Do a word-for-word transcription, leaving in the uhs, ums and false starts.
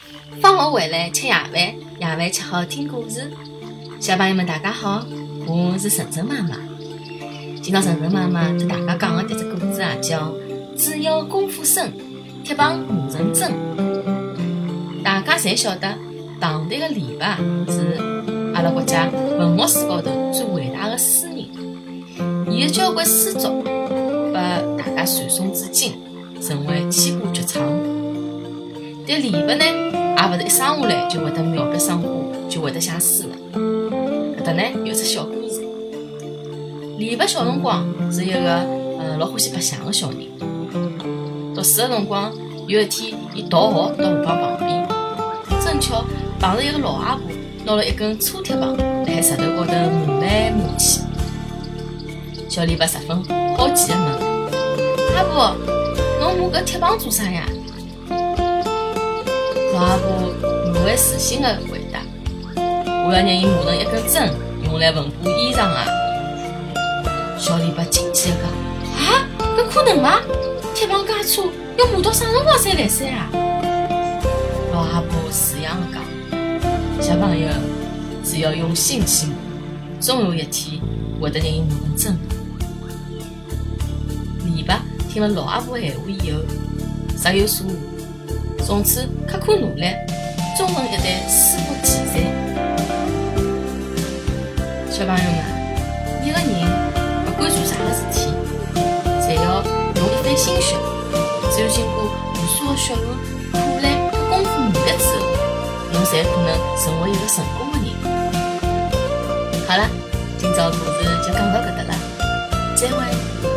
放学回来吃夜饭，夜饭吃好听故事。小朋友们大家好，我是晨晨妈妈。今朝晨晨妈妈给大家讲的这只故事啊，叫只要功夫深，铁棒磨成针。大家侪晓得，唐代的李白是阿拉国家文学史高头最伟大的诗人，伊的交关诗作被大家传颂至今，成为千古绝唱。但李白呢，也勿是一生下来就会得描笔生花，就会得写诗的。搿搭呢有只小故事。李白小辰光是一个呃老欢喜白相的小人。读书的辰光，有一天伊逃学到河浜旁边，正巧碰着一个老阿婆拿了一根粗铁棒，辣海石头高头磨来磨去。小李白十分好奇地问：“阿婆，侬磨搿铁棒做啥呀？”老阿婆不会自信地回答：“我要让伊磨成一根针，用来缝补衣裳啊！”小李白惊奇地讲：“啊，搿可能吗？铁棒介粗，要磨到啥辰光才来塞啊？”老阿婆慈祥地讲：“小朋友，只要用心去磨，总有一天会得让伊磨成针。”李白听了老阿婆闲话以后，若有所悟。从此刻苦努力，终成一代诗国奇才。小朋友们，一个人不管做啥个事体，侪要用一番心血，只有经过无数个血汗、苦难和功夫磨砺之后，侬才可能成为一个成功的人。好了，今朝故事就讲到搿搭了，再会。